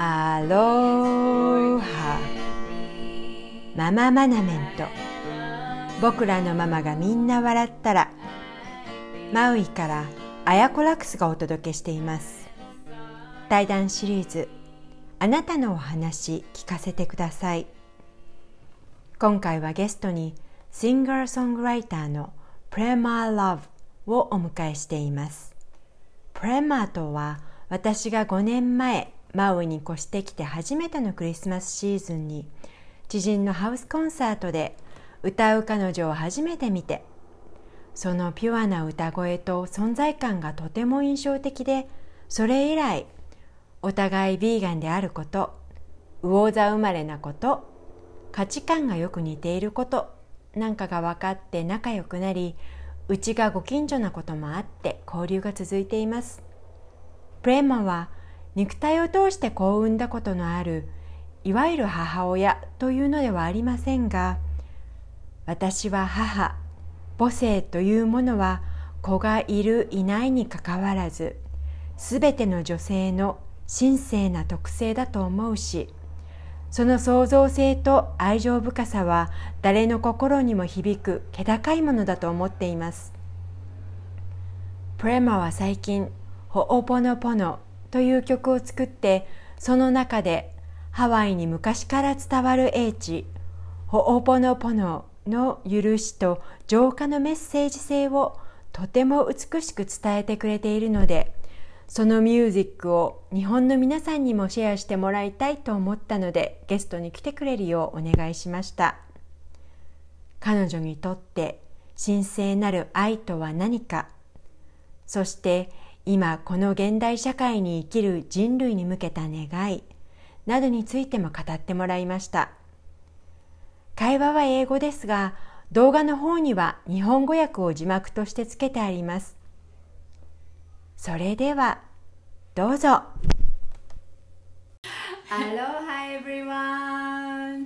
アロハ。マママナメント。僕らのママがみんな笑ったら。マウイからアヤコラクスがお届けしています。対談シリーズ、あなたのお話聞かせてください。今回はゲストにシンガーソングライターのプレマー・ラブをお迎えしています。プレマーとは、私が5年前マウイに越してきて初めてのクリスマスシーズンに知人のハウスコンサートで歌う彼女を初めて見て、そのピュアな歌声と存在感がとても印象的で、それ以来お互いビーガンであること、魚座生まれなこと、価値観がよく似ていることなんかが分かって仲良くなり、うちがご近所なこともあって交流が続いています。プレマは肉体を通して子を産んだことのあるいわゆる母親というのではありませんが、私は母、母性というものは子がいるいないにかかわらず、すべての女性の神聖な特性だと思うし、その創造性と愛情深さは誰の心にも響く気高いものだと思っています。プレマは最近ホオポノポノという曲を作って、その中でハワイに昔から伝わる英知ホオポノポノの許しと浄化のメッセージ性をとても美しく伝えてくれているので、そのミュージックを日本の皆さんにもシェアしてもらいたいと思ったので、ゲストに来てくれるようお願いしました。彼女にとって神聖なる愛とは何か、そして今この現代社会に生きる人類に向けた願いなどについても語ってもらいました。会話は英語ですが、動画の方には日本語訳を字幕としてつけてあります。それではどうぞ。Aloha everyone.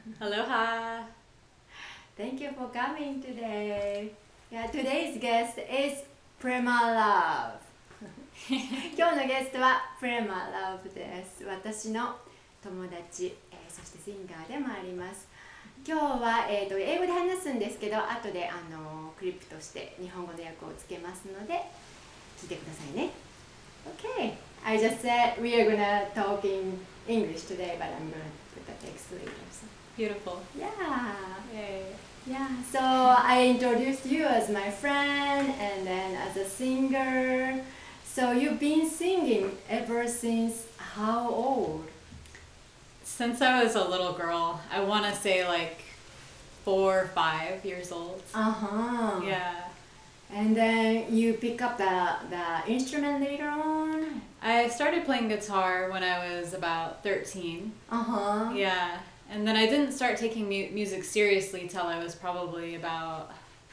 Aloha. Thank you for coming today. Yeah, today's guest is Prema Love. 今日のゲストはプレマラブです。私の友達、そしてシンガーでもあります。今日は、英語で話すんですけど、後でクリップとして日本語の訳をつけますので聞いてくださいね。Okay, I just said we are gonna talk in English today, but I'm gonna put the text later. So. Beautiful. Yeah. Yay. Yeah, so I introduced you as my friend and then as a singer. So you've been singing ever since how old? Since I was a little girl, I want to say like 4 or 5 years old. Uh-huh. Yeah. And then you pick up the instrument later on? I started playing guitar when I was about 13. Uh-huh. Yeah. And then I didn't start taking music seriously till I was probably about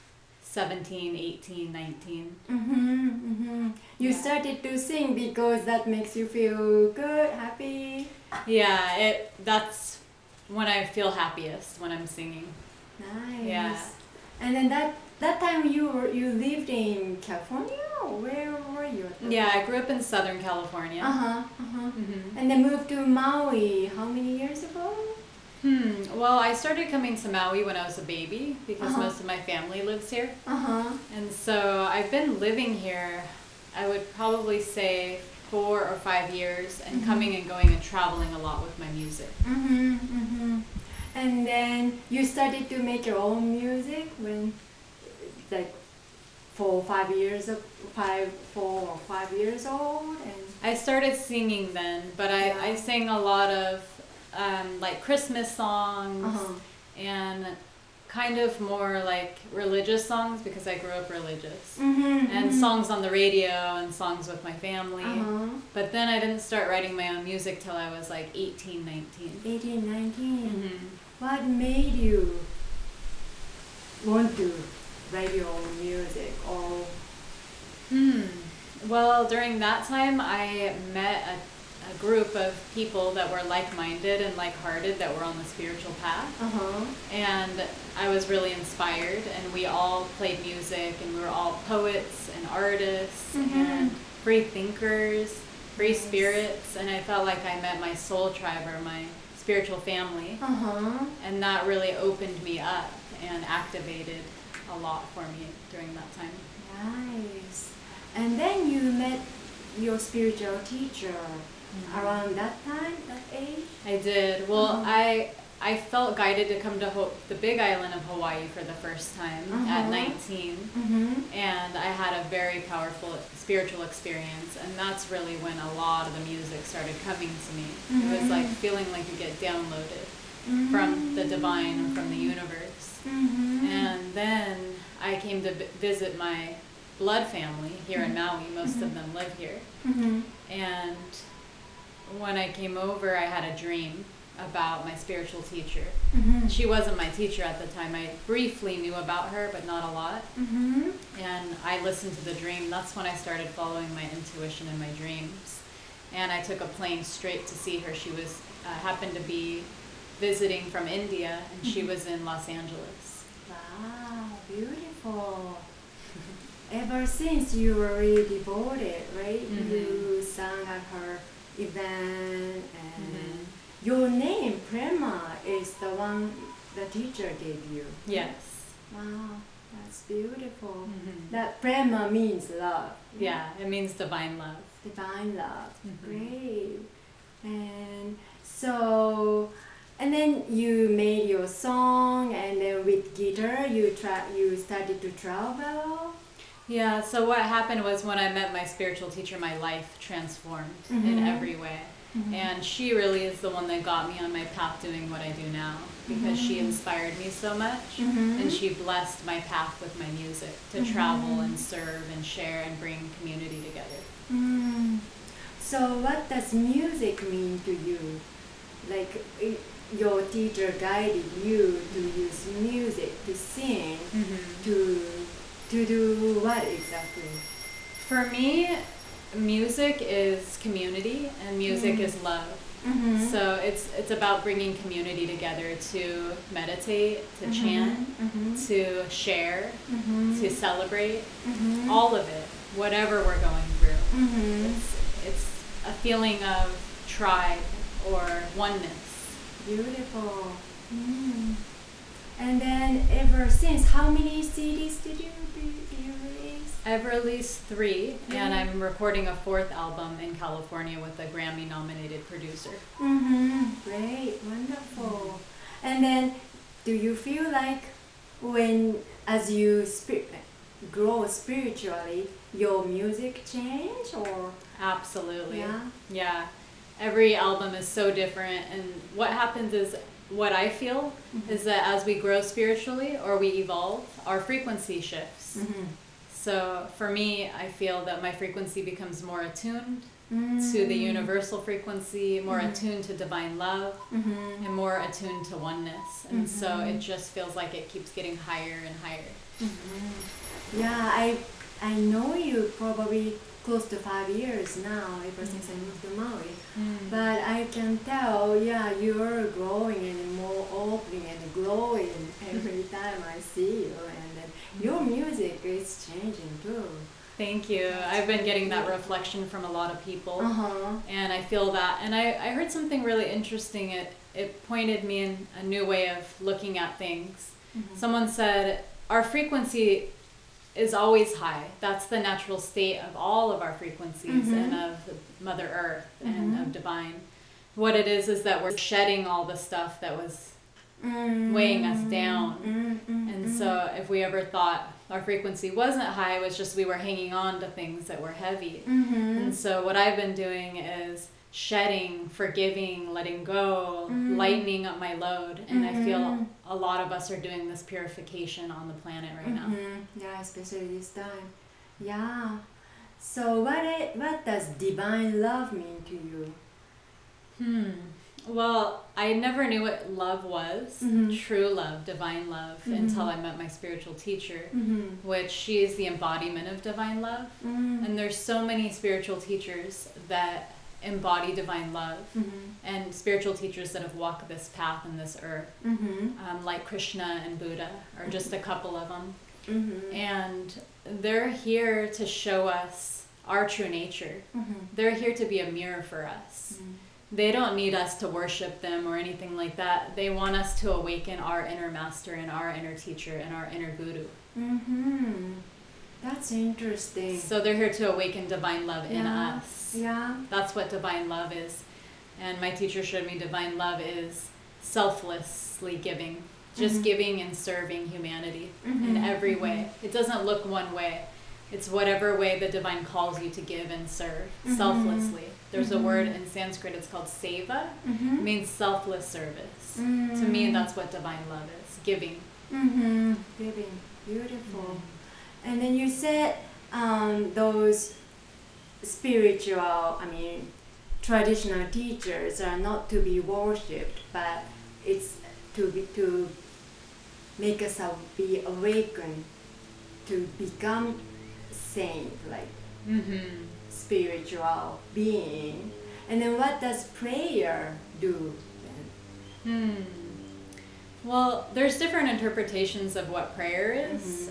17, 18, 19. Mm-hmm, mm-hmm. You started to sing because that makes you feel good, happy? Yeah, that's when I feel happiest, when I'm singing. Nice. Yeah. And then that time you lived in California? Or where were you? Yeah, I grew up in Southern California. Uh-huh, uh-huh. Mm-hmm. And then moved to Maui how many years ago? Well, I started coming to Maui when I was a baby because most of my family lives here. Uh-huh. And so I've been living here, I would probably say 4 or 5 years, and coming and going and traveling a lot with my music. Mm-hmm, mm-hmm. And then you started to make your own music when, like, 4 or 5 years old? And I started singing then, but I sang a lot of like Christmas songs and kind of more like religious songs because I grew up religious. And songs on the radio and songs with my family. But then I didn't start writing my own music till I was like 18, 19. 18, 19. What made you want to write your own music? Or Well, during that time I met a group of people that were like-minded and like-hearted that were on the spiritual path. And I was really inspired, and we all played music, and we were all poets and artists and free thinkers. free spirits, and I felt like I met my soul tribe or my spiritual family. And that really opened me up and activated a lot for me during that time. Nice. And then you met your spiritual teacher around that time, that age? I did. Well, I felt guided to come to the Big Island of Hawaii for the first time at 19. And I had a very powerful spiritual experience, and that's really when a lot of the music started coming to me. It was like feeling like you get downloaded from the divine and from the universe. And then I came to visit my blood family here in Maui. Most of them live here. And when I came over, I had a dream about my spiritual teacher. She wasn't my teacher at the time. I briefly knew about her, but not a lot. And I listened to the dream. That's when I started following my intuition in my dreams. And I took a plane straight to see her. She was happened to be visiting from India, and she was in Los Angeles. Wow, beautiful. Ever since you were really devoted, right? You sang at her event, and your name, Prema, is the one the teacher gave you. Yes. Wow, that's beautiful. That Prema means love. Yeah, it means divine love. Divine love. Great. And so, and then you made your song, and then with guitar you started to travel. Yeah, so what happened was when I met my spiritual teacher, my life transformed in every way. And she really is the one that got me on my path doing what I do now, because she inspired me so much, and she blessed my path with my music to travel and serve and share and bring community together. So what does music mean to you? Like your teacher guided you to use music to sing, to do what exactly? For me, music is community, and music is love. So it's about bringing community together to meditate, to chant, to share, to celebrate, all of it, whatever we're going through. It's a feeling of tribe or oneness. Beautiful. And then ever since, how many CDs did you release? I've released 3, and I'm recording a 4th album in California with a Grammy-nominated producer. Great, wonderful. And then, do you feel like as you grow spiritually, your music change, or? Absolutely. Yeah. Every album is so different, and what happens is, what I feel is that as we grow spiritually or we evolve, our frequency shifts. So for me, I feel that my frequency becomes more attuned to the universal frequency, more attuned to divine love, and more attuned to oneness. And so it just feels like it keeps getting higher and higher. Yeah, I know you probably close to 5 years now, ever since I moved to Maui. But I can tell, you're growing and more opening and glowing every time I see you. And then your music is changing too. Thank you. I've been getting that reflection from a lot of people. And I feel that. And I heard something really interesting. It pointed me in a new way of looking at things. Someone said, our frequency is always high. That's the natural state of all of our frequencies and of Mother Earth and of divine. What it is that we're shedding all the stuff that was weighing us down. And so if we ever thought our frequency wasn't high, it was just we were hanging on to things that were heavy. And so what I've been doing is shedding, forgiving, letting go, lightening up my load. And I feel a lot of us are doing this purification on the planet right now. Yeah, especially this time. Yeah. So what does divine love mean to you? Well, I never knew what love was, true love, divine love, until I met my spiritual teacher, which she is the embodiment of divine love. And there's so many spiritual teachers that embody divine love, and spiritual teachers that have walked this path in this earth, like Krishna and Buddha, are just a couple of them. And they're here to show us our true nature. Mm-hmm. They're here to be a mirror for us. They don't need us to worship them or anything like that. They want us to awaken our inner master and our inner teacher and our inner guru. Mm-hmm. That's interesting. So they're here to awaken divine love in us. Yeah. That's what divine love is. And my teacher showed me divine love is selflessly giving. Just giving and serving humanity in every way. It doesn't look one way. It's whatever way the divine calls you to give and serve selflessly. There's a word in Sanskrit, it's called seva. It means selfless service. To me, that's what divine love is, giving. Giving. Beautiful. And then you said those spiritual, traditional teachers are not to be worshipped, but it's to make us be awakened, to become saint, like spiritual being. And then what does prayer do then? Well, there's different interpretations of what prayer is.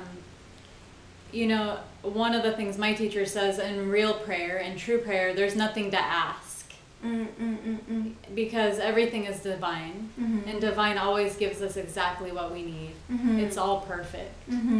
One of the things my teacher says in real prayer, in true prayer, there's nothing to ask. Because everything is divine. And divine always gives us exactly what we need. It's all perfect.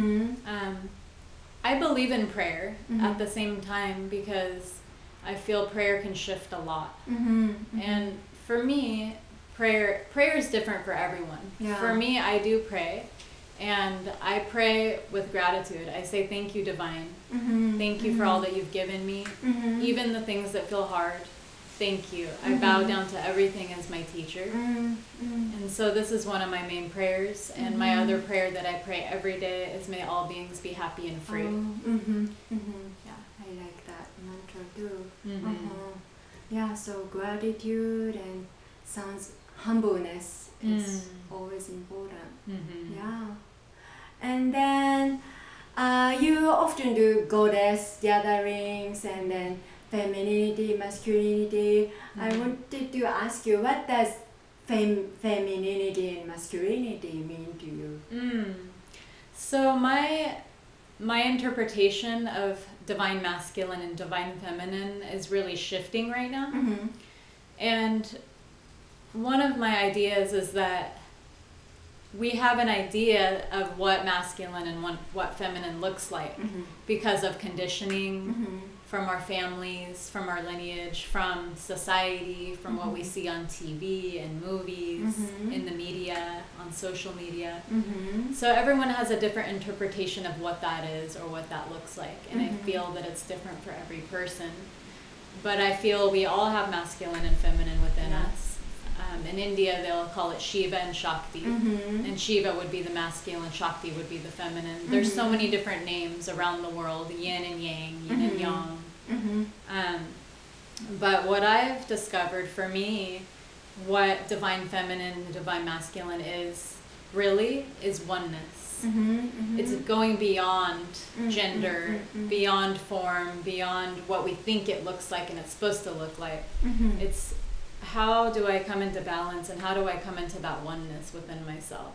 I believe in prayer at the same time because I feel prayer can shift a lot. And for me, prayer is different for everyone. Yeah. For me, I do pray. And I pray with gratitude. I say, thank you, divine. Thank you for all that you've given me. Even the things that feel hard. Thank you. I bow down to everything as my teacher. And so this is one of my main prayers. And my other prayer that I pray every day is, may all beings be happy and free. Yeah, I like that mantra too. Yeah, so gratitude and humbleness is always important. Yeah. And then you often do goddess gatherings and then femininity, masculinity. I wanted to ask you, what does femininity and masculinity mean to you? So my interpretation of divine masculine and divine feminine is really shifting right now. And one of my ideas is that we have an idea of what masculine and what feminine looks like because of conditioning from our families, from our lineage, from society, from what we see on TV and movies, in the media, on social media. So everyone has a different interpretation of what that is or what that looks like. And I feel that it's different for every person. But I feel we all have masculine and feminine within us. In India, they'll call it Shiva and Shakti. And Shiva would be the masculine, Shakti would be the feminine. There's so many different names around the world, yin and yang, yin and yang. But what I've discovered for me, what divine feminine and divine masculine is, really, is oneness. It's going beyond gender, beyond form, beyond what we think it looks like and it's supposed to look like. It's how do I come into balance and how do I come into that oneness within myself?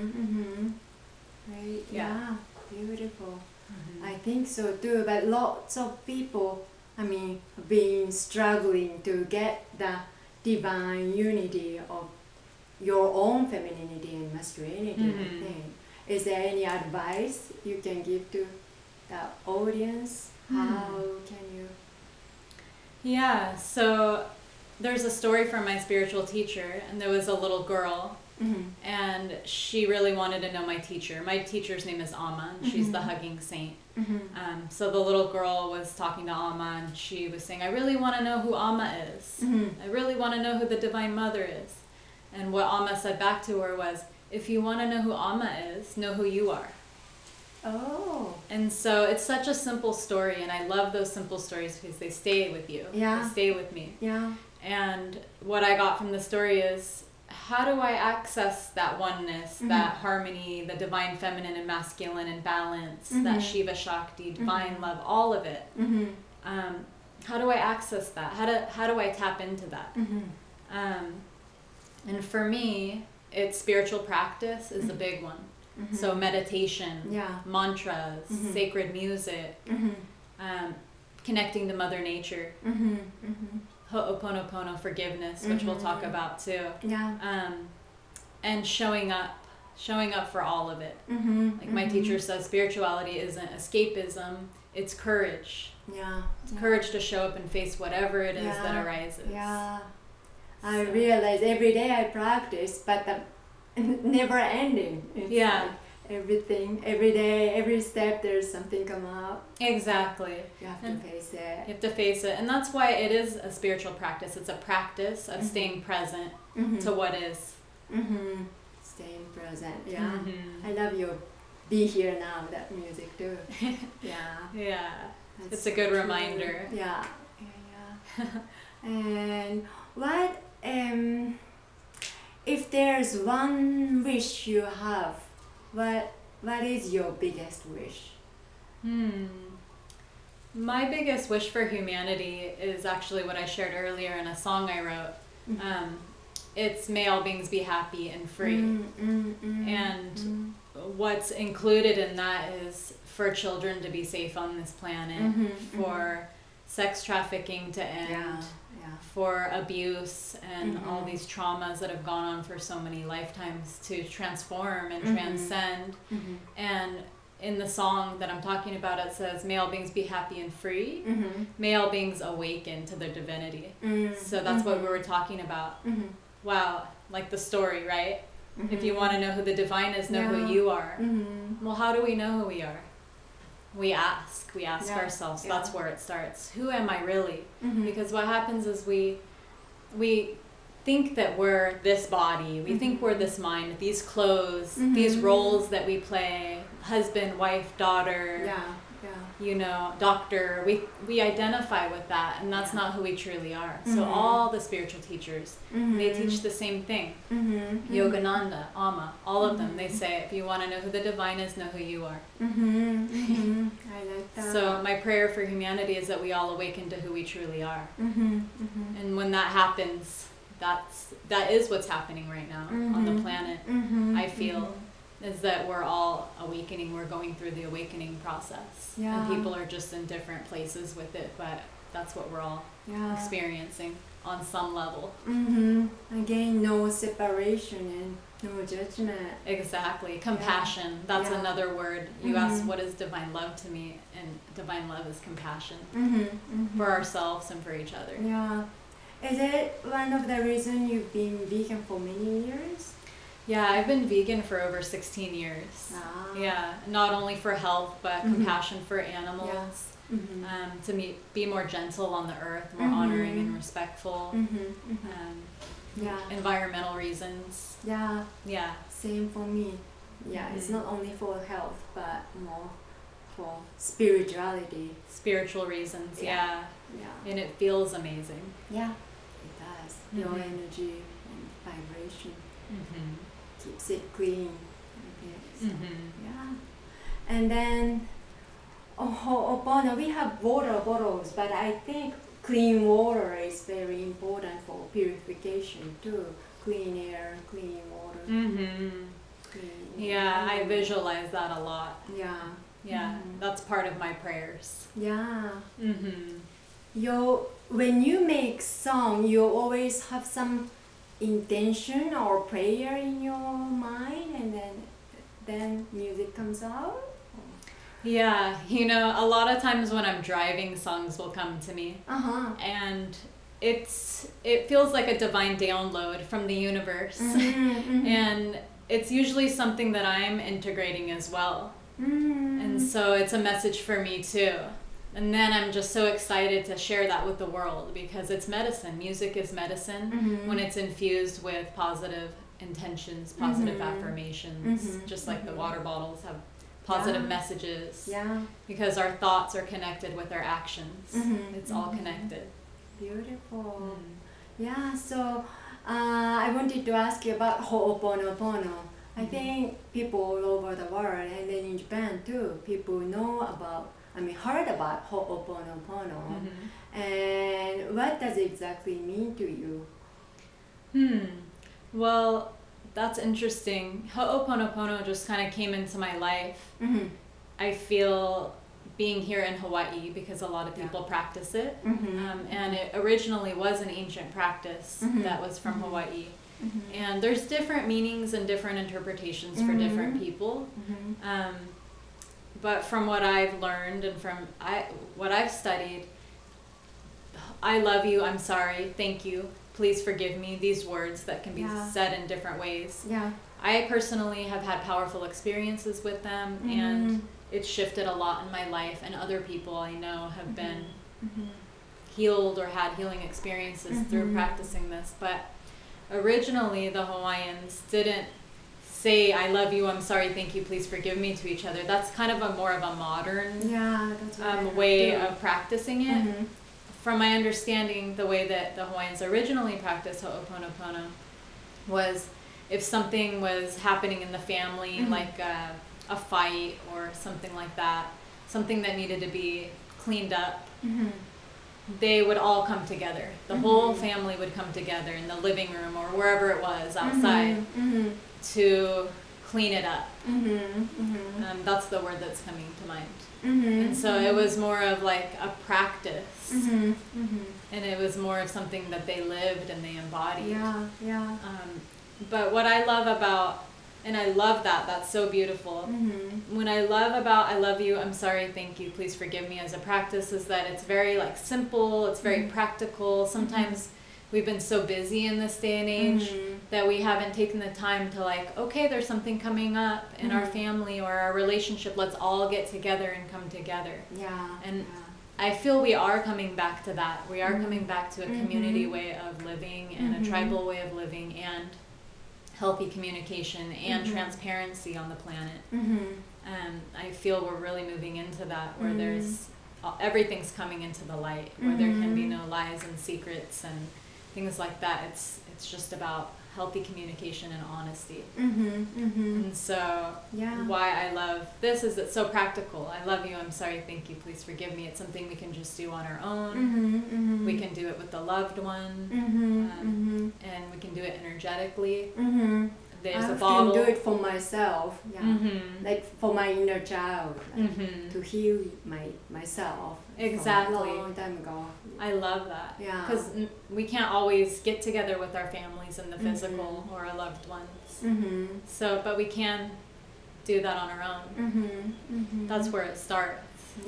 Right? Yeah, beautiful. I think so too, but lots of people, been struggling to get the divine unity of your own femininity and masculinity, I think. Is there any advice you can give to the audience? How can you? Yeah, so there's a story from my spiritual teacher, and there was a little girl, and she really wanted to know my teacher. My teacher's name is Amma, and she's the hugging saint. So the little girl was talking to Amma, and she was saying, I really want to know who Amma is. I really want to know who the Divine Mother is. And what Amma said back to her was, if you want to know who Amma is, know who you are. Oh. And so it's such a simple story, and I love those simple stories because they stay with you. Yeah. They stay with me. Yeah. And what I got from the story is, how do I access that oneness, that harmony, the divine feminine and masculine and balance, that Shiva Shakti, divine love, all of it? How do I access that? How do I tap into that? And for me, it's spiritual practice is a big one. So meditation, mantras, sacred music, connecting to Mother Nature. Ho'oponopono, forgiveness, which we'll talk about too. Yeah. And showing up for all of it. Like my teacher says, spirituality isn't escapism, it's courage. Yeah. It's courage to show up and face whatever it is that arises. Yeah. I realize every day I practice, but never ending. It's like everything, every day, every step, there's something come up. Exactly. You have to face it. You have to face it. And that's why it is a spiritual practice. It's a practice of staying present to what is. Staying present, yeah. I love your Be Here Now, that music too. Yeah. It's a good reminder. Yeah. And what, if there's one wish you have, what is your biggest wish? My biggest wish for humanity is actually what I shared earlier in a song I wrote. It's may all beings be happy and free. And what's included in that is for children to be safe on this planet, for sex trafficking to end, for abuse and all these traumas that have gone on for so many lifetimes to transform and transcend. And in the song that I'm talking about, it says, may all beings be happy and free. May all beings awaken to their divinity. So that's what we were talking about. Wow, like the story, right? If you want to know who the divine is, know who you are. Well, how do we know who we are? We ask ourselves. That's where it starts. Who am I really? Because what happens is we think that we're this body, we think we're this mind, these clothes, these roles that we play, husband, wife, daughter, you know, doctor, we identify with that, and that's not who we truly are. So all the spiritual teachers, they teach the same thing. Yogananda, Amma, all of them, they say, if you want to know who the divine is, know who you are. I like that. So my prayer for humanity is that we all awaken to who we truly are. And when that happens, that is what's happening right now on the planet. I feel is that we're all awakening. We're going through the awakening process, and people are just in different places with it, but that's what we're all experiencing on some level. Again, no separation and no judgment. Exactly. Compassion. That's another word. You asked, what is divine love to me? And divine love is compassion for ourselves and for each other. Yeah. Is it one of the reasons you've been vegan for many years? Yeah, I've been vegan for over 16 years. Yeah, not only for health, but compassion for animals, to be more gentle on the earth, more honoring and respectful, environmental reasons. Yeah. Yeah. Same for me. Yeah, it's not only for health, but more for spirituality. Spiritual reasons, yeah. And it feels amazing. Yeah, it does. Your energy and vibration. Keeps it clean. So, yeah. And then Ho'opono, we have water bottles, but I think clean water is very important for purification too. Clean air, clean water. Clean I visualize that a lot. Yeah. That's part of my prayers. Yeah. When you make song, you always have some intention or prayer in your mind, and then music comes out? Yeah, you know, a lot of times when I'm driving, songs will come to me. And it feels like a divine download from the universe. And it's usually something that I'm integrating as well. And so it's a message for me too. And then I'm just so excited to share that with the world, because it's medicine. Music is medicine when it's infused with positive intentions, positive affirmations, just like the water bottles have positive messages. Because our thoughts are connected with our actions. It's all connected. Beautiful. Yeah, so I wanted to ask you about Ho'oponopono. I think people all over the world, and then in Japan too, people heard about Ho'oponopono. And what does it exactly mean to you? Well, that's interesting. Ho'oponopono just kind of came into my life. I feel being here in Hawaii, because a lot of people practice it. Mm-hmm. And it originally was an ancient practice that was from Hawaii. And there's different meanings and different interpretations for different people. But from what I've learned and from what I've studied, I love you, I'm sorry, thank you, please forgive me, these words that can be said in different ways. Yeah. I personally have had powerful experiences with them, and it's shifted a lot in my life, and other people I know have been healed or had healing experiences through practicing this. But originally the Hawaiians didn't say I love you, I'm sorry, thank you, please forgive me to each other. That's kind of more of a modern That's what way of practicing it. From my understanding, the way that the Hawaiians originally practiced Ho'oponopono was if something was happening in the family, like a fight or something like that, something that needed to be cleaned up, they would all come together. The whole family would come together in the living room or wherever it was outside to clean it up. That's the word that's coming to mind. And so it was more of like a practice, and it was more of something that they lived and they embodied. But what I love about, and I love that's so beautiful. When I love about I love you, I'm sorry, thank you, please forgive me as a practice, is that it's very like simple, it's very practical. Sometimes we've been so busy in this day and age that we haven't taken the time to like, okay, there's something coming up in our family or our relationship, let's all get together and come together. And I feel we are coming back to that. We are coming back to a community way of living and a tribal way of living and healthy communication and transparency on the planet. I feel we're really moving into that, where there's everything's coming into the light, where there can be no lies and secrets and things like that. It's just about healthy communication and honesty. And so why I love this is it's so practical. I love you, I'm sorry, thank you, please forgive me. It's something we can just do on our own. We can do it with the loved one, and we can do it energetically. There's I a bottle. can do it for myself, like for my inner child, like to heal myself. Exactly. From a long time ago. I love that. Because we can't always get together with our families in the physical or our loved ones. So, but we can do that on our own. That's where it starts.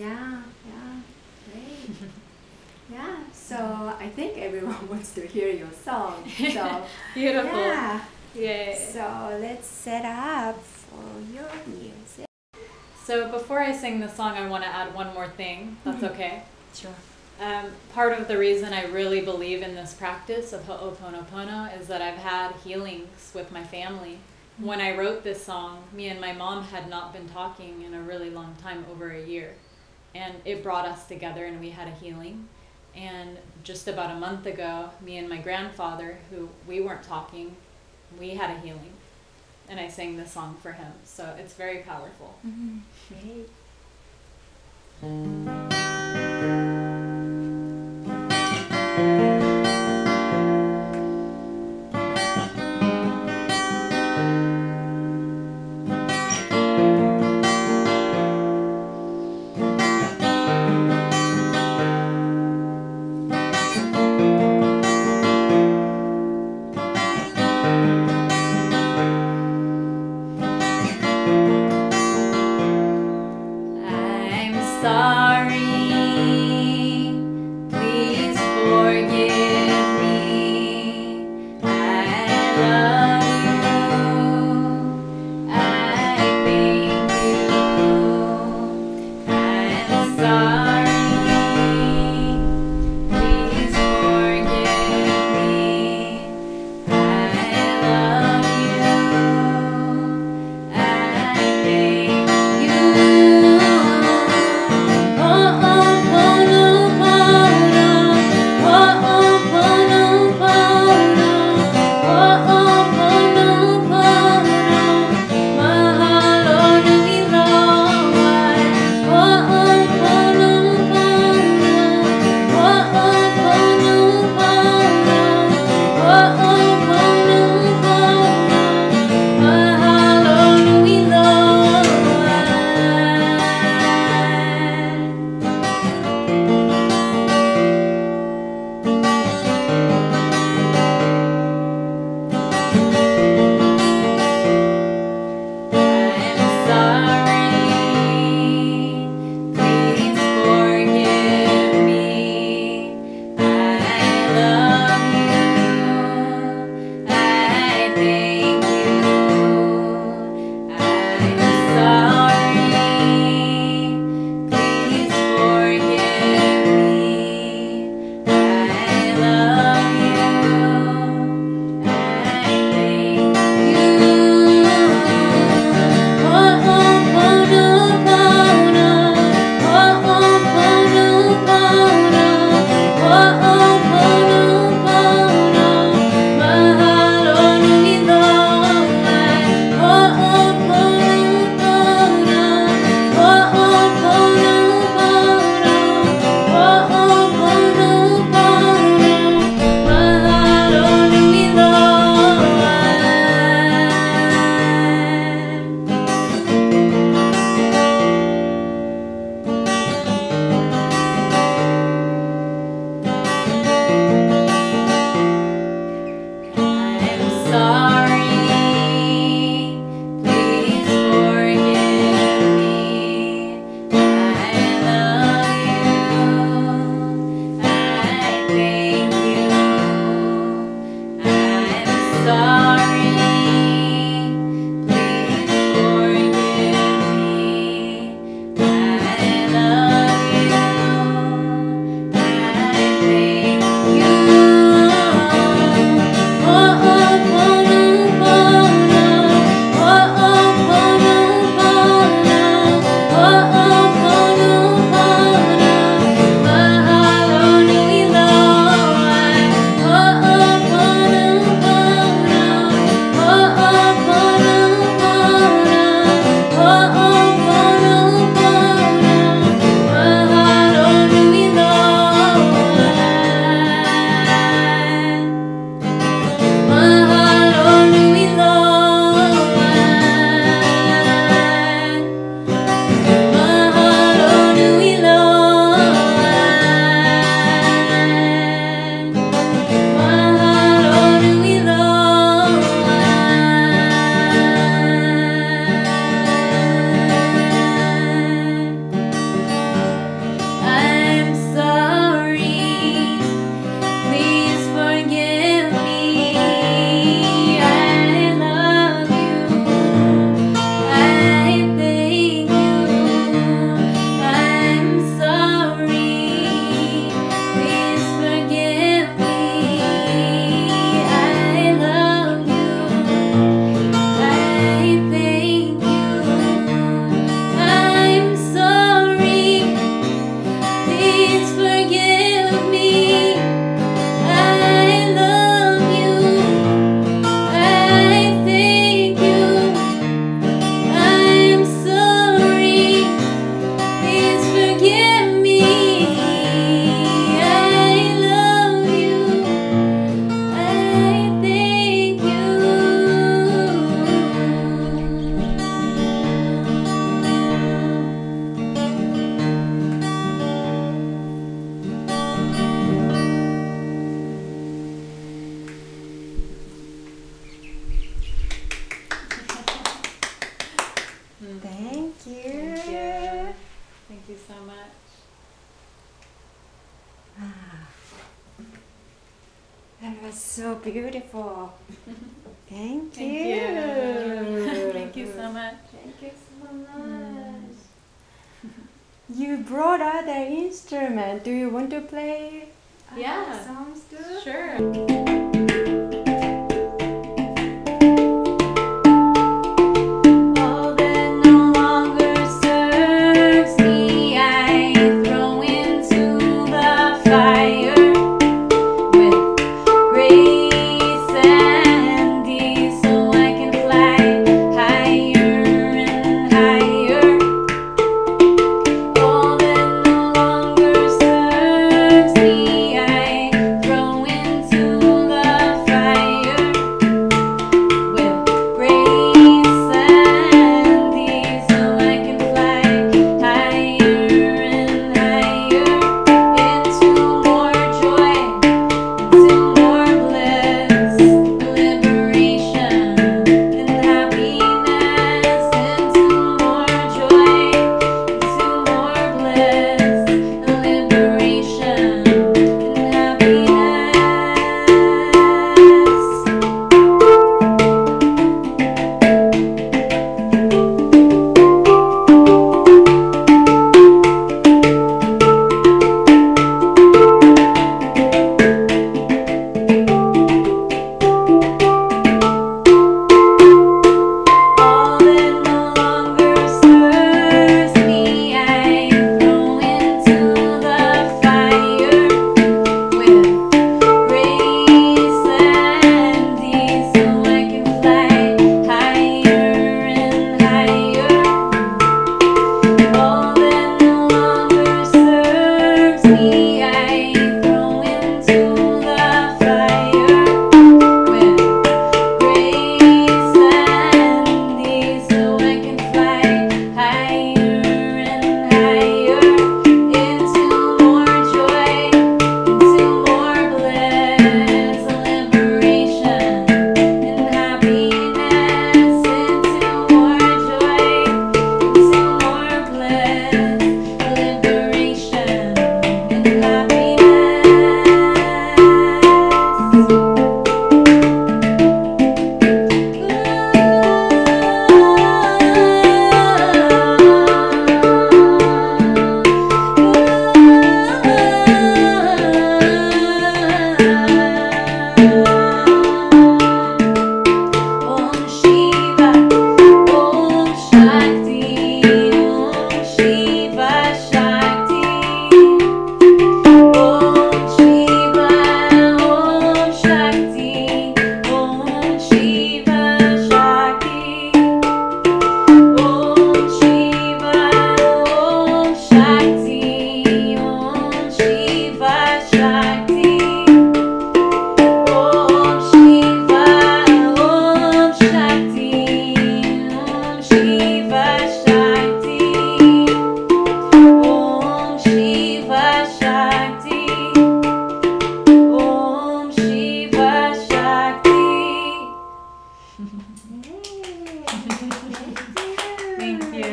Great. So I think everyone wants to hear your song. So Beautiful. Yay. So let's set up for your music. So before I sing the song, I want to add one more thing. That's okay? Sure. Part of the reason I really believe in this practice of Ho'oponopono is that I've had healings with my family. When I wrote this song, me and my mom had not been talking in a really long time, over a year. And it brought us together and we had a healing. And just about a month ago, me and my grandfather, who we weren't talking, we had a healing. And I sang this song for him. So it's very powerful. Great. Thank you. Thank you. Thank you so much. That was so beautiful. Thank Thank you. you. Thank you so much. Thank you so much. You brought other instrument. Do you want to play Yeah. Songs too? Sure. All that no longer serves me, I throw into the fire with grace and ease, so I can fly higher and higher. All that no longer serves me, I throw into the fire with grace and ease, so I can fly higher and higher into more joy, into more bliss, liberation and happiness, into more joy, into more bliss, liberation and happiness. All that no longer serves me, I throw into the fire with grace and ease, so I can fly higher and higher. All that no longer serves me, I throw into the fire with grace and ease, so I can fly higher and higher into more joy, into more bliss, liberation and happiness, into more joy, into more bliss, liberation and Om Shiva, Om Shakti, Om Shiva Shakti. Om Shiva, Om Shakti, Om Shiva Shakti. Om Shiva, Om Shakti, Om Shiva Shakti. Om Shiva, Om Shakti, Om Shiva Shakti. Om Shiva Shakti, Om Shiva Shakti. Thank you.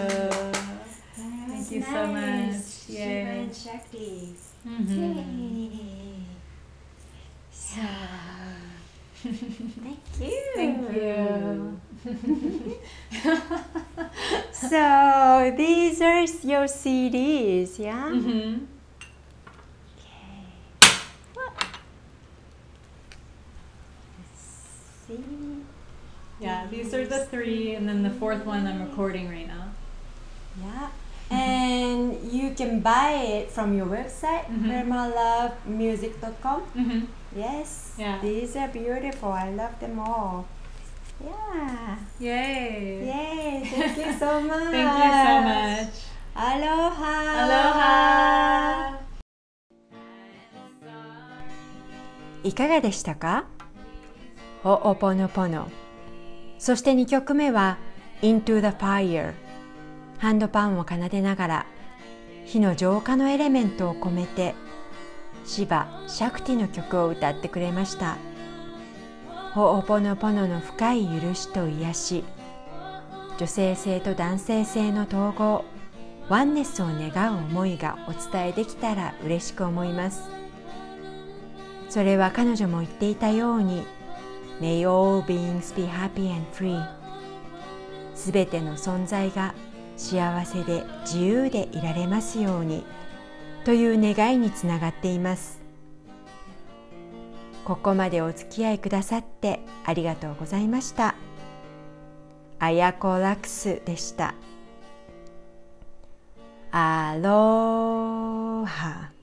Thank you so much. Shiva Yay. and Shakti. Mhm. So, thank you. Thank you. So these are your CDs, yeah? Mhm. Okay. Let's see. Yeah, these are the three, and then the fourth one I'm recording right now. Yeah. And you can buy it from your website, permalovemusic.com. Mm-hmm. Yes. Yeah. These are beautiful. I love them all. Yeah. Yay! Yay. Thank you so much. Thank you so much. Aloha. Aloha! いかがでしたか？ホオポノポノ。そして2曲目は Into the Fire。ハンドパンを奏でながら火の浄化のエレメントを込めてシバ・シャクティの曲を歌ってくれました。ホオポノポノの深い許しと癒し、 女性性と男性性の統合、ワンネスを願う思いがお伝えできたら嬉しく思います。それは彼女も言っていたように、May all beings be happy and free。すべての存在が幸せで自由でいられますようにという願いにつながっています。ここまでお付き合いくださってありがとうございました。あやこラクスでした。アローハ。